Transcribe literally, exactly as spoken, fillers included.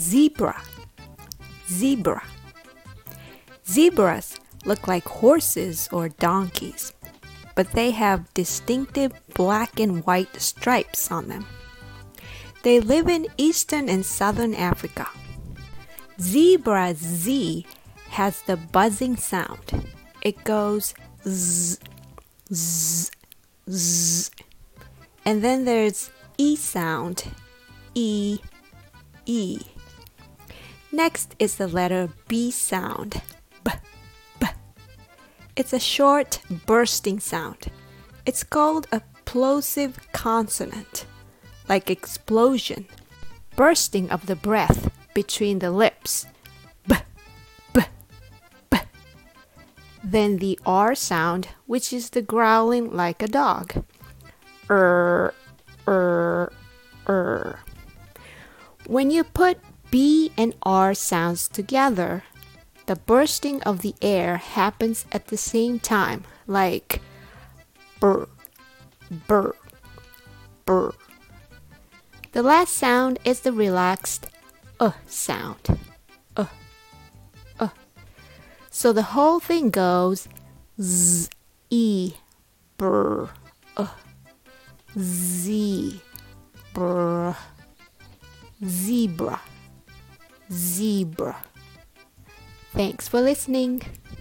zebra, zebra. Zebras look like horses or donkeys, but they have distinctive black and white stripes on them. They live in eastern and southern Africa. Zebra Z has the buzzing sound. It goes z, z, z. And then there's E sound, E, E. Next is the letter B sound, B, B. It's a short, bursting sound. It's called a plosive consonant, like explosion, bursting of the breath between the lips. B, B, B. Then the R sound, which is the growling like a dog. Er, er, er. When you put B and R sounds together, the bursting of the air happens at the same time, like brr, brr, brr. The last sound is the relaxed uh sound. Uh, uh. So the whole thing goes z, e, brr, uh, z, brr, zebra, zebra. Thanks for listening.